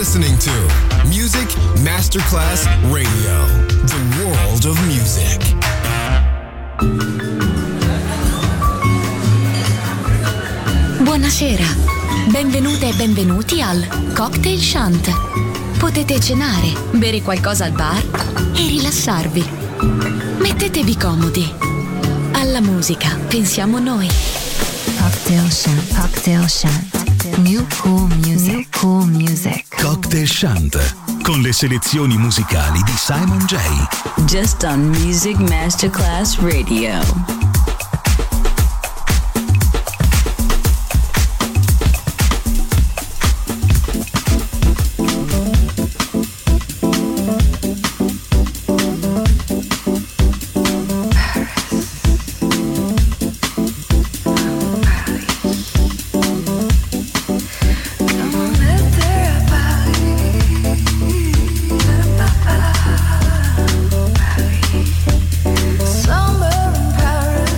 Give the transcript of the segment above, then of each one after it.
listening to Music Masterclass Radio, the world of music. Buonasera, benvenute e benvenuti al Cocktail Shant. Potete cenare, bere qualcosa al bar e rilassarvi. Mettetevi comodi. Alla musica pensiamo noi. Cocktail Shant, Cocktail Shant. New cool music, new cool music. Cocktail Shant, con le selezioni musicali di Simon J. Just on Music Masterclass Radio. Summer in Paris.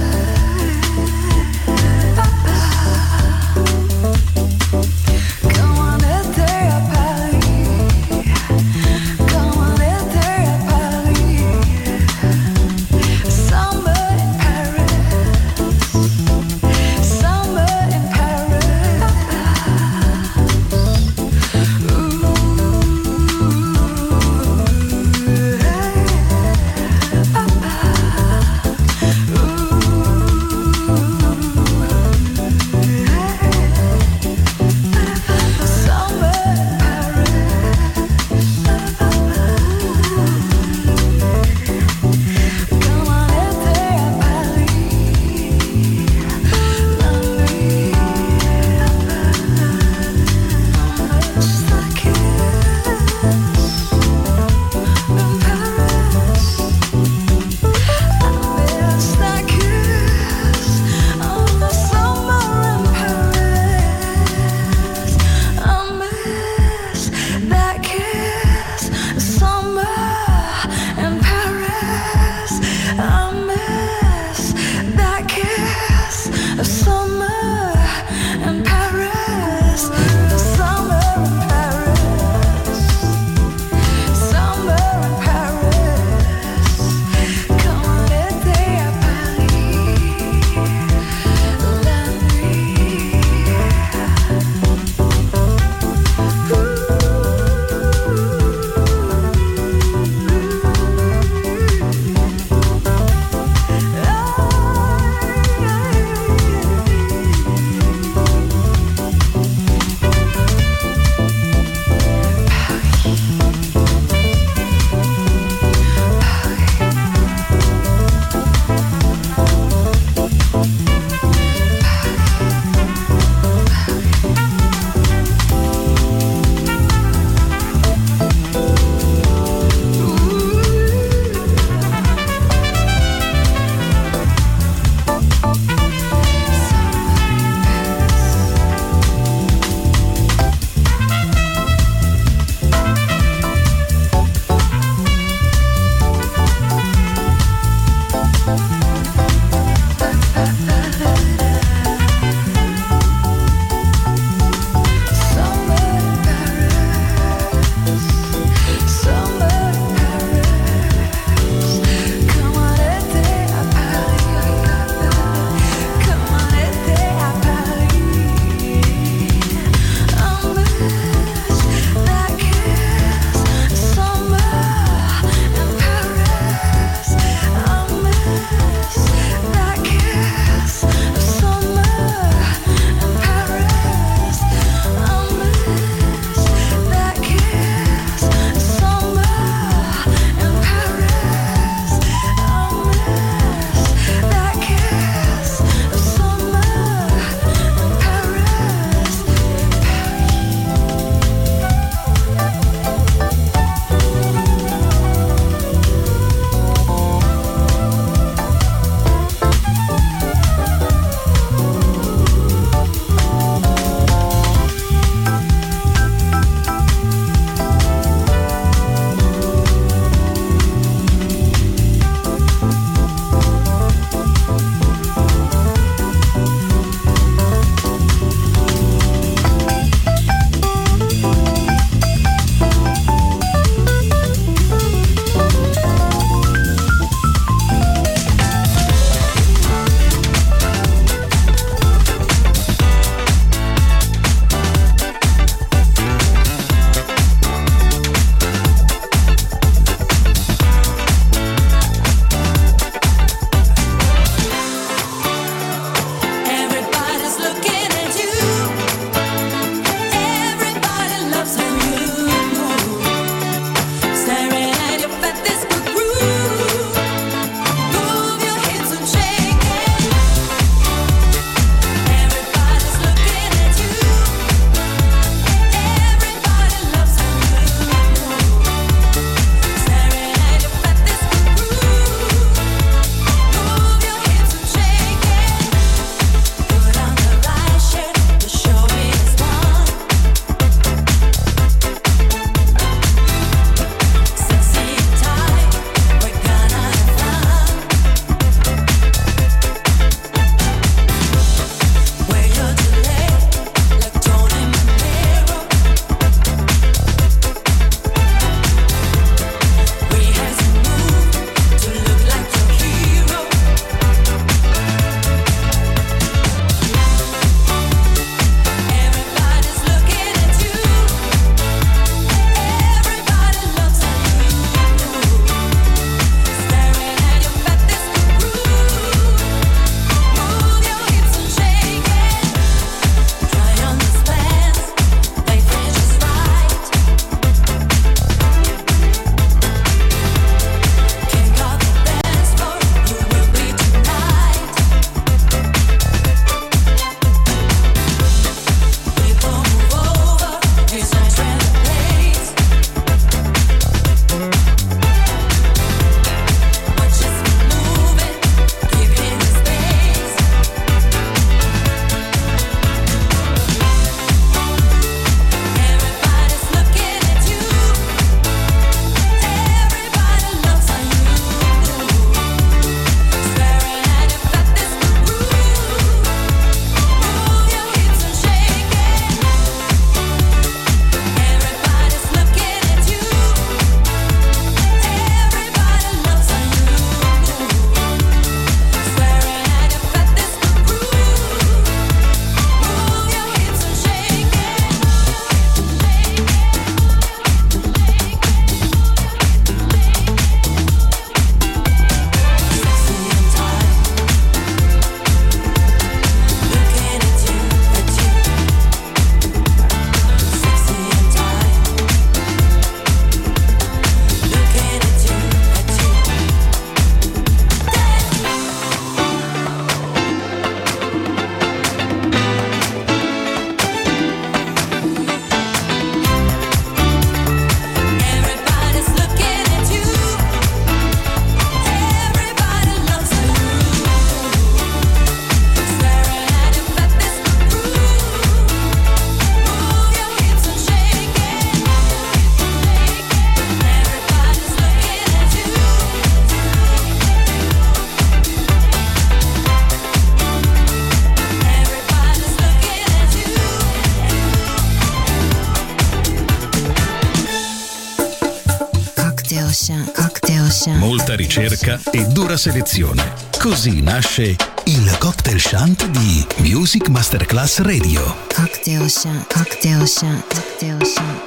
Cocktail Shant. Molta ricerca e dura selezione. Così nasce il Cocktail Shant di Music Masterclass Radio. Cocktail Shant. Cocktail Shant. Cocktail Shant.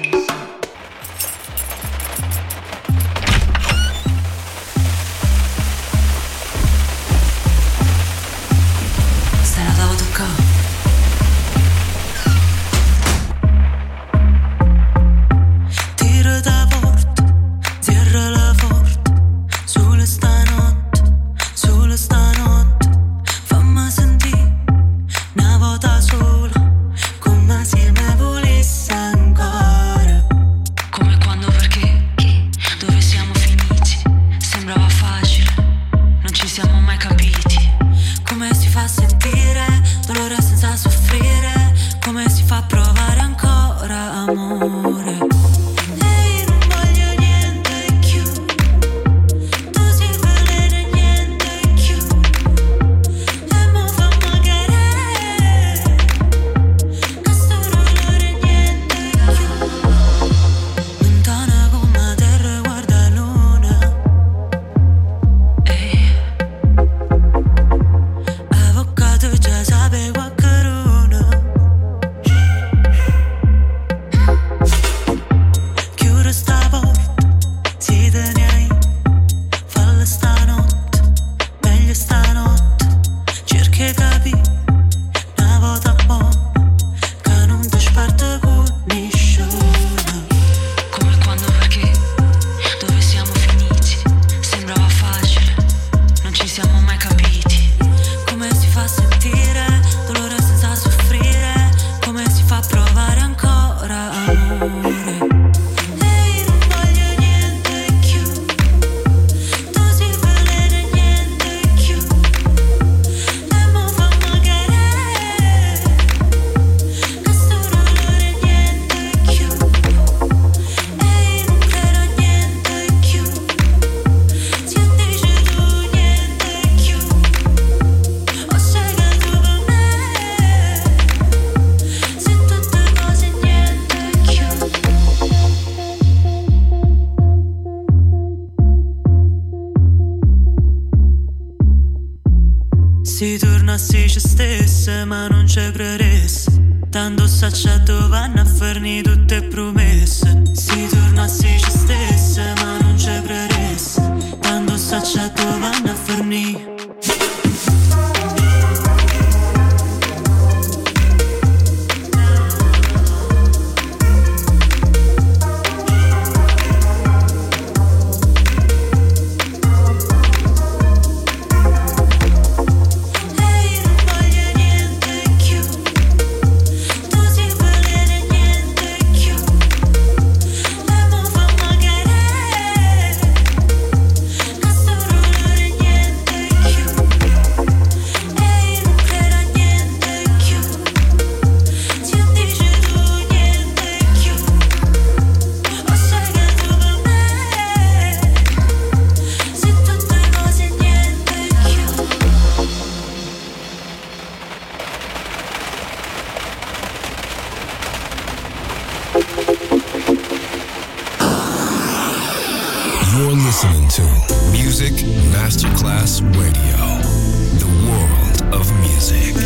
Si tornassi ci stesse ma non ci credesse, tanto s'acciato vanno a farni tutte promesse. Si tornassi ci stesse ma non ci credesse, tanto s'acciato vanno a farni. listening to Music Masterclass Radio, the world of music.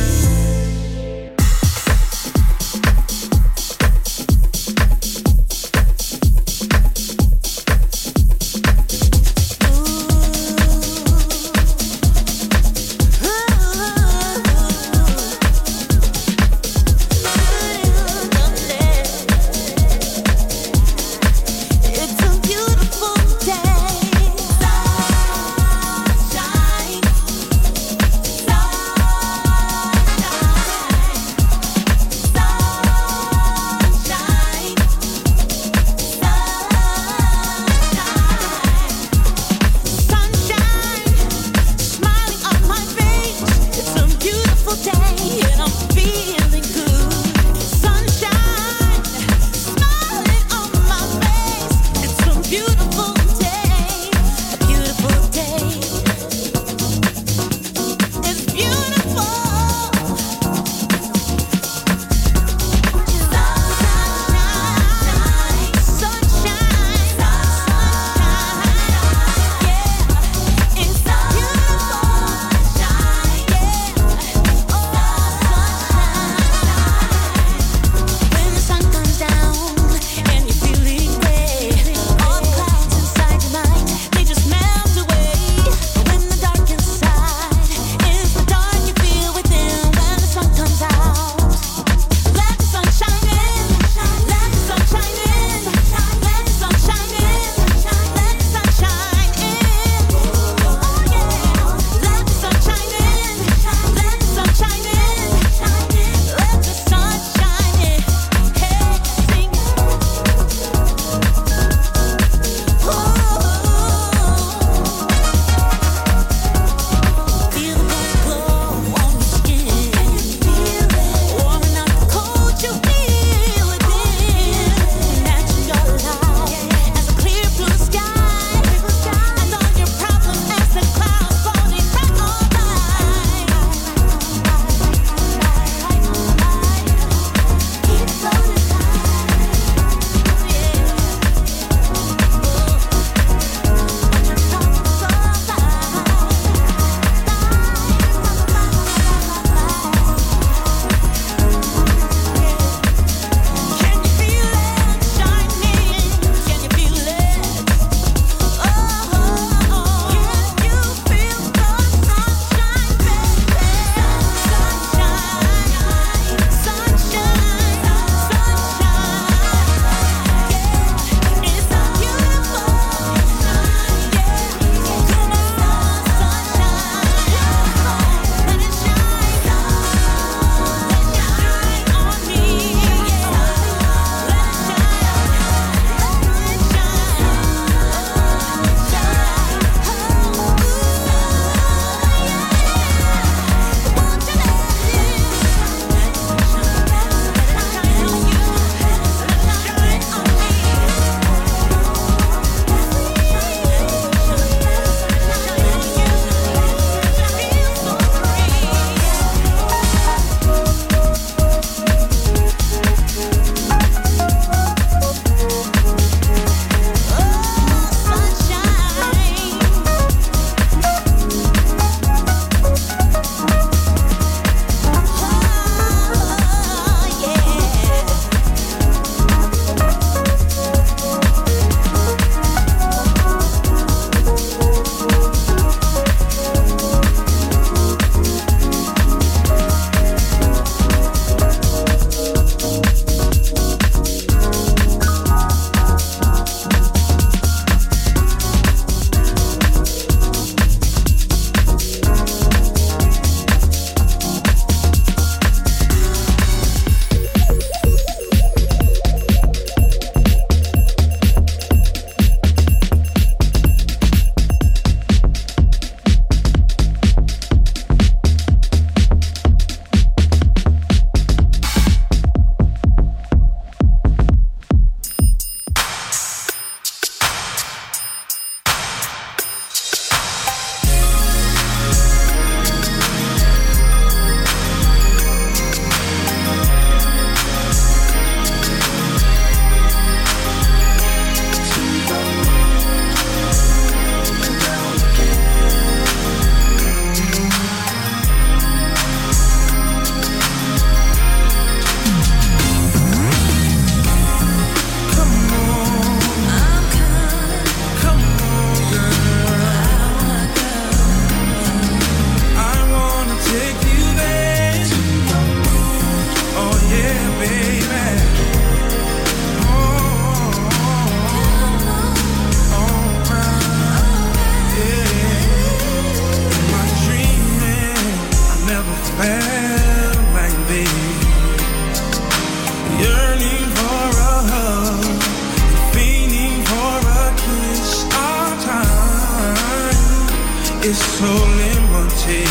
so limited.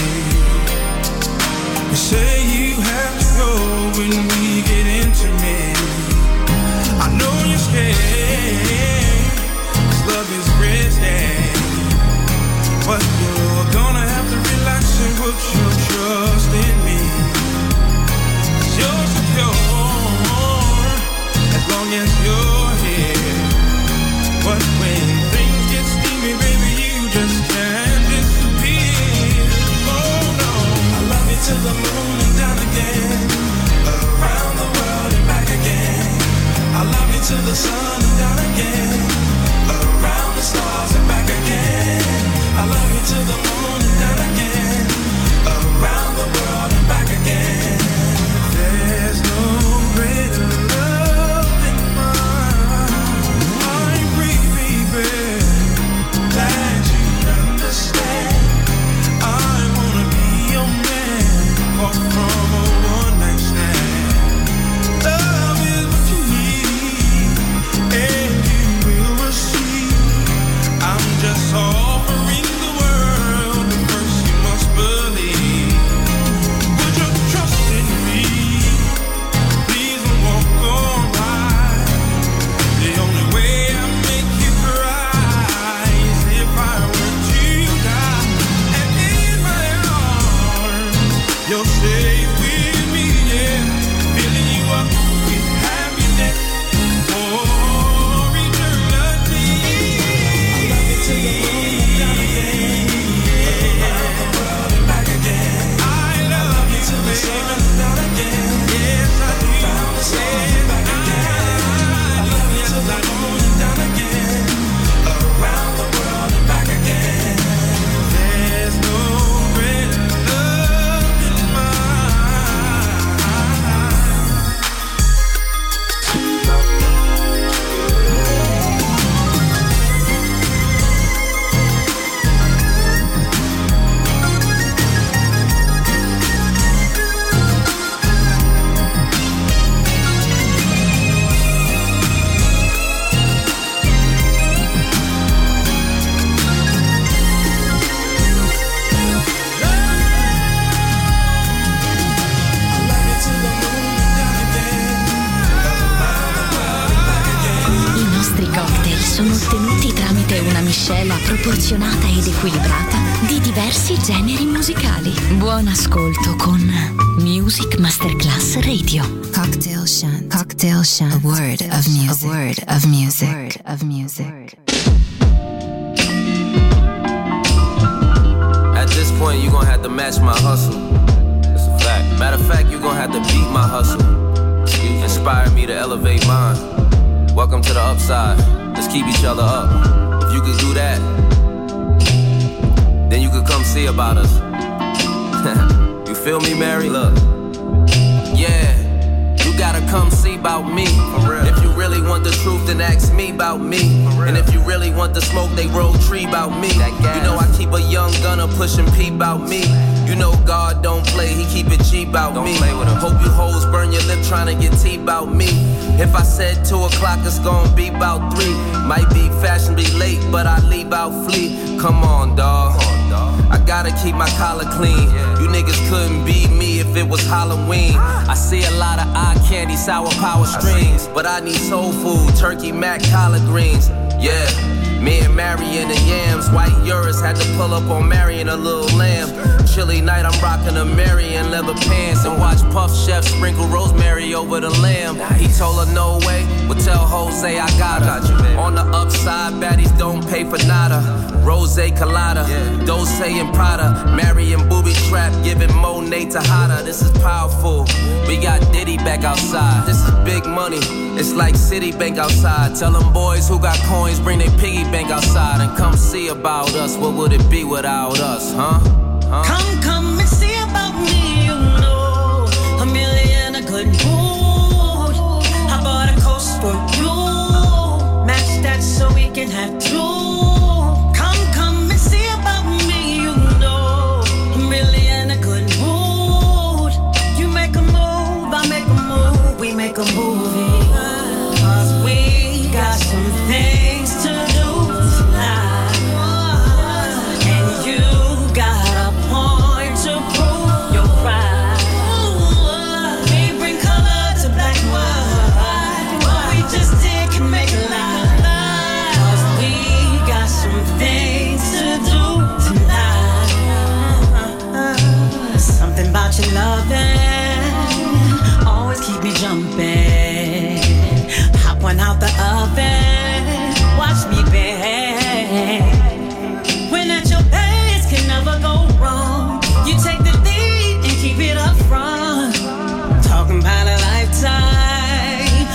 You say you have to go when we get intimate. I know you're scared, 'cause love is risky. But you're gonna have to relax and put your trust in me. 'Cause you're secure as long as you're here. But when things get steamy, baby, you just can't disappear. Oh no, I love you to the moon and down again, around the world and back again. I love you to the sun and down again, around the stars and back again. I love you to the moon and down again, around the world and back again. There's no greater love than mine. I'm free, baby, glad you understand. I wanna be your man, far from a one-night stand. Love is what you need, and you will receive. I'm just offering the world, but first you must believe. Put your trust in me, please don't walk on by. The only way I make you cry is if I were to die. And in my arms, you're safe with me, yeah. Filling you up with happiness for eternity. I love you to the moon and down again, around the world and back again. I love you to the sun and down again. Yes, I do. Around the stars and back again. I love you to the moon and down again, around the world and back again. There's no greater love than mine. I nostri cocktail sono ottenuti tramite una miscela proporzionata ed equilibrata di diversi generi musicali. Buon ascolto con Music Masterclass Radio. Cocktail Shant. Cocktail Shant. A word of music. A word of music. A word of music. At this point, you're gonna have to match my hustle. That's a fact. Matter of fact, you're gonna have to beat my hustle. Inspire me to elevate mine. Welcome to the upside. Let's keep each other up. If you could do that, then you could come see about us. You feel me, Mary? Look. Yeah. You gotta come see about me. If you really want the truth, then ask me about me. And if you really want the smoke, they roll tree about me. You know I keep a young gunner pushing P about me. You know God don't play, he keep it G about me. Hope you hoes burn your lip trying to get tea about me. If I said 2 o'clock, it's gonna be about 3. Might be fashionably late, but I leave out fleet. Come on, dawg. I gotta keep my collar clean. You niggas couldn't beat me if it was Halloween. I see a lot of eye candy, sour power strings, but I need soul food, turkey, mac, collard greens. Yeah, me and Marion and Yams. White Urus had to pull up on Marion, a little lamb. Chilly night, I'm rocking a Marion leather pants and watch Puff Chef sprinkle rosemary over the lamb. He told her no way, well tell Jose I got her. On the upside, baddies don't pay for nada. Rose Colada, Dose and Prada, Marion booby trap, giving Monet to Hada. This is powerful. We got Diddy back outside. This is big money. It's like Citibank outside. Tell them boys who got coins, bring their piggy bank outside and come see about us. What would it be without us, huh? Come and see about me, you know. I'm really in a good mood. I bought a coast for you. Match that so we can have two. Come and see about me, you know. I'm really in a good mood. You make a move, I make a move. We make a movie. 'Cause we got some things to do tonight. And you got up and watch me bang. When at your best can never go wrong. You take the lead and keep it up front. Talking about a lifetime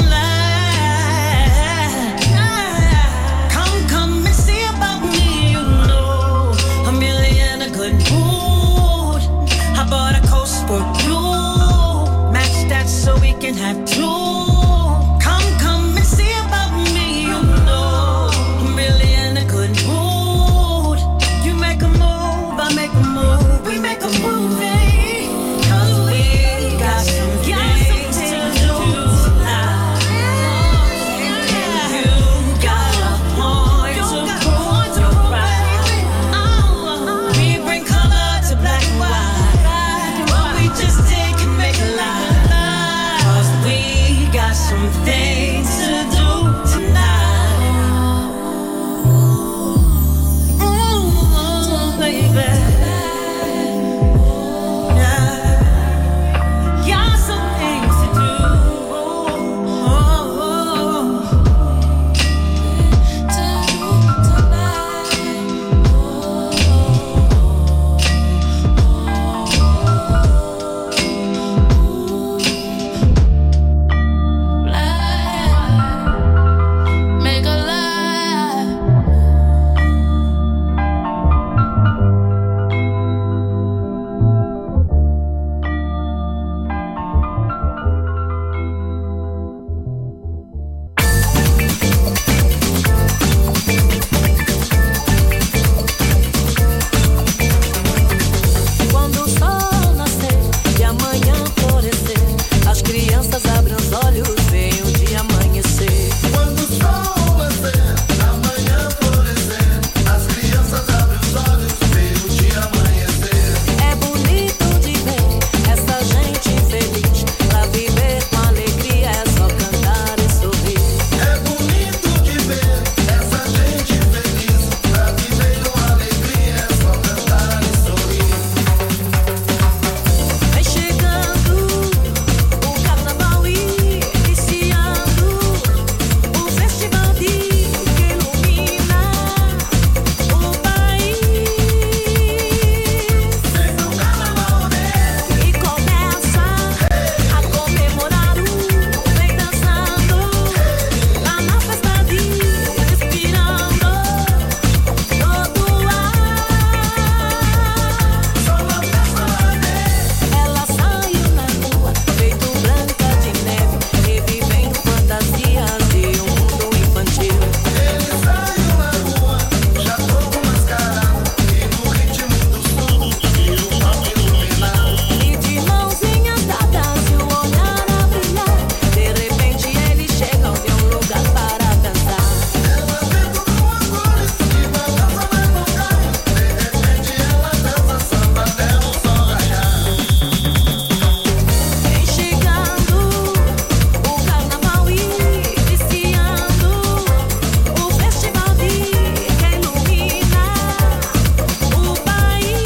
online. Come and see about me. You know I'm really in a good mood. I bought a coat for you. Match that so we can have two. Come and see about me. You know I'm really in a good mood. You make a move, I make a move. We make a movie. 'Cause we got some things to do tonight. And you got a point to prove you're right. We bring color to black and white. What we just did can make a lie. 'Cause we got some things to do tonight. Ooh, baby. Got some things to do. Make a lie. Quando o sol nascer e amanhã florescer, as crianças abrem os olhos, veem o dia amanhecer. Quando o sol nascer, amanhã florescer, as crianças abrem os olhos, veem o dia amanhecer. É bonito de ver essa gente feliz, pra viver com alegria é só cantar e sorrir. É bonito de ver essa gente feliz, pra viver com alegria é só cantar e sorrir. Vem chegando o carnaval iniciando, o festival que ilumina o país. Vem pro carnaval, né? E começa a comemorar o vem dançando lá na festa de respirando todo o ar. Só uma festa, né? Ela saiu na rua, feito branca de neve, revivendo fantasias de um mundo infantil. Ele saiu na rua, já todo mascarado, e no ritmo do som, e o palco iluminado. E de mãozinhas dadas e o olhar a brilhar, de repente ele chega onde é um lugar para dançar. Ela vê tudo com as cores, e balança na vontade. De repente ela dança samba até o sol raiar. Vem chegando o carnaval iniciando, o festival que ilumina o país.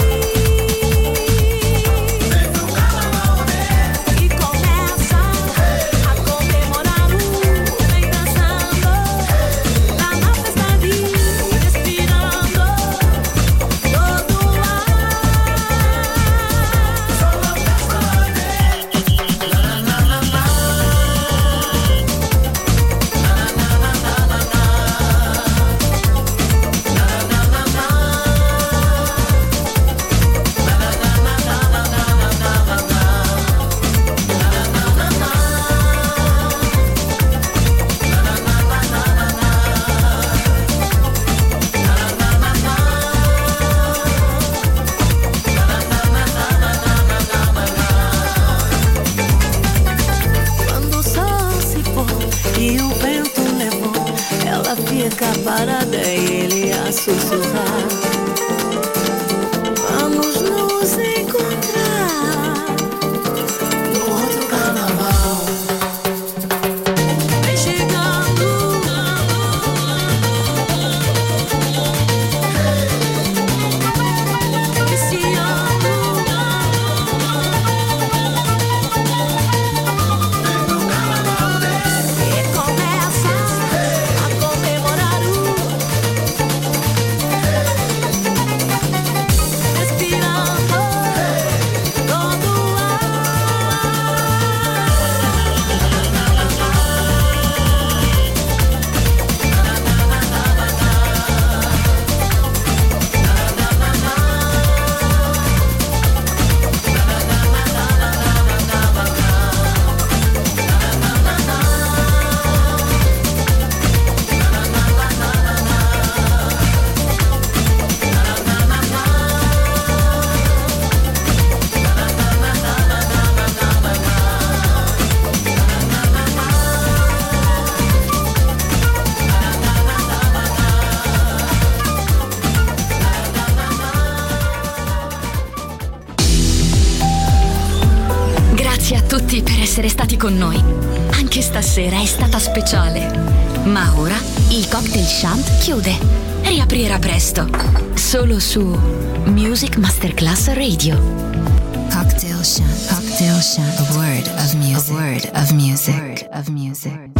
Vem pro carnaval, né? E começa a comemorar o vem dançando lá na festa de respirando todo o ar. Só uma festa, né? Na na na na. Quando o sol se pôr e o vento levou, ela fica parada e ele a sussurrar. Vamos nos encontrar No outro carnaval. vem chegando. Esse ano Vem pro carnaval, né? e começa con noi. Anche stasera è stata speciale. Ma ora il Cocktail Shant chiude. Riaprirà presto. Solo su Music Masterclass Radio. Cocktail Shant. Cocktail Shant. A word of music. A word of music.